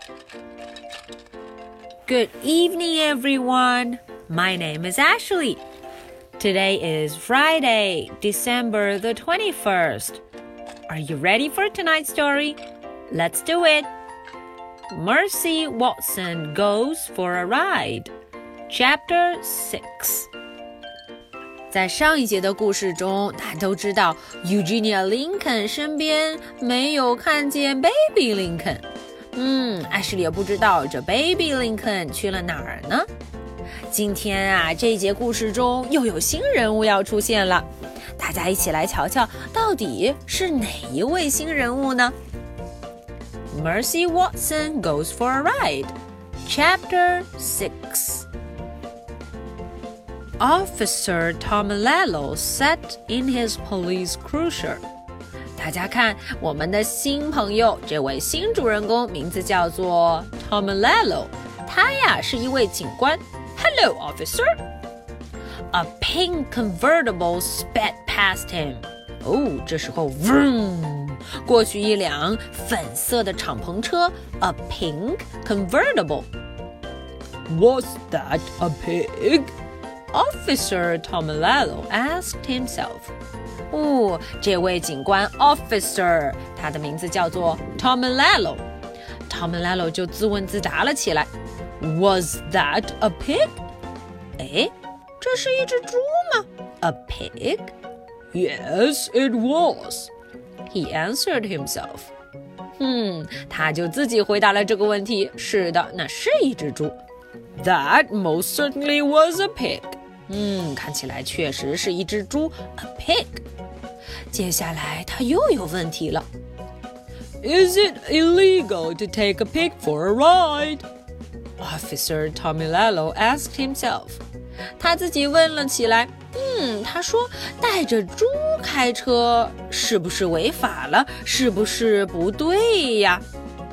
Good evening, everyone. My name is Ashley. Today is Friday, December the 21st. Are you ready for tonight's story? Let's do it. Mercy Watson Goes for a Ride. Chapter 6. 在上一节的故事中，大家都知道 Eugenia Lincoln 身边没有看见 Baby Lincoln。艾什莉也不知道这 Baby Lincoln 去了哪儿呢？今天啊，这一节故事中又有新人物要出现了，大家一起来瞧瞧，到底是哪一位新人物呢？ Mercy Watson Goes for a Ride. Chapter 6. Officer Tomalolo sat in his police cruiser. 大家看，我们的新朋友，这位新主人公名字叫做 Tomalolo， 他呀是一位警官。Hello, officer. A pink convertible sped past him. 这时候 vroom 过去一辆粉色的敞篷车 A pink convertible. Was that a pig? Officer Tomalolo asked himself. 这位警官 Officer 他的名字叫做 Tomalolo 就自问自答了起来。Was that a pig? 这是一只猪吗？ A pig? Yes, it was. He answered himself. 他就自己回答了这个问题。是的，那是一只猪。 That most certainly was a pig. 看起来确实是一只猪 A pig. 接下来他又有问题了。 Is it illegal to take a pig for a ride? Officer Tomalolo asked himself. 他自己问了起来。他说带着猪开车是不是违法了？是不是不对呀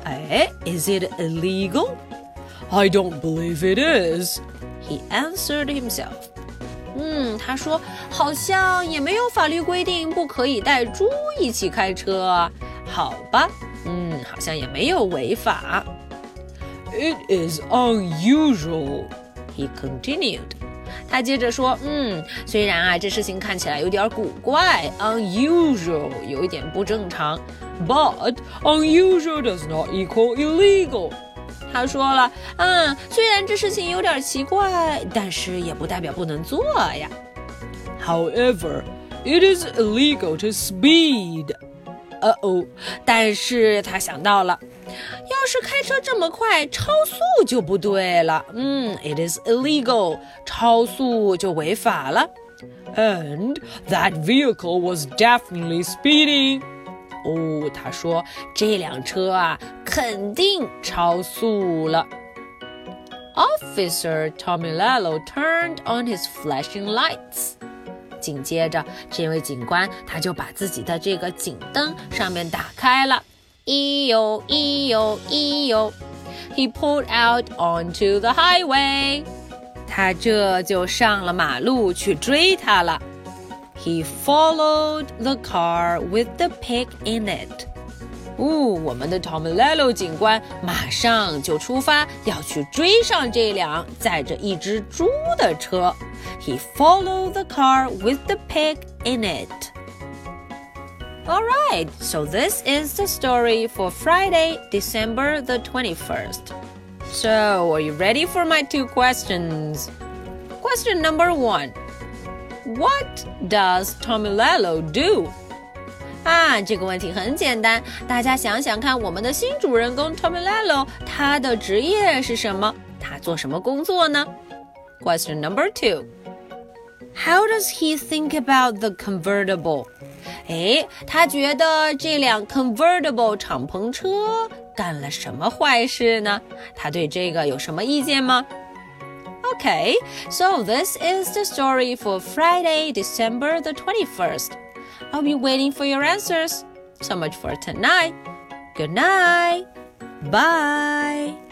？Is it illegal? I don't believe it is. He answered himself. 他说好像也没有法律规定不可以带猪一起开车啊。好吧，好像也没有违法。 It is unusual. He continued. 他接着说，虽然啊这事情看起来有点古怪 unusual 有一点不正常 but unusual does not equal illegal. 他说了，虽然这事情有点奇怪，但是也不代表不能做呀。 However, it is illegal to speed. 但是他想到了，要是开车这么快，超速就不对了。It is illegal， 超速就违法了。 And that vehicle was definitely speeding. 他说这辆车啊，肯定超速了。Officer Tomalolo turned on his flashing lights. 紧接着，这位警官他就把自己的这个警灯上面打开了。咿呦咿呦咿呦 He pulled out onto the highway. 他这就上了马路去追他了。He followed the car with the pig in it. 我们的 Tomalolo 警官马上就出发，要去追上这辆载着一只猪的车。He followed the car with the pig in it. All right, so this is the story for Friday, December the 21st. So, are you ready for my 2 questions? Question number 1. What does Tomalolo do? 这个问题很简单，大家想想看，我们的新主人公 Tomalolo 他的职业是什么？他做什么工作呢？ Question number 2. How does he think about the convertible? 他觉得这辆 convertible 敞篷车干了什么坏事呢？他对这个有什么意见吗？Okay, so this is the story for Friday, December the 21st. I'll be waiting for your answers. So much for tonight. Good night. Bye.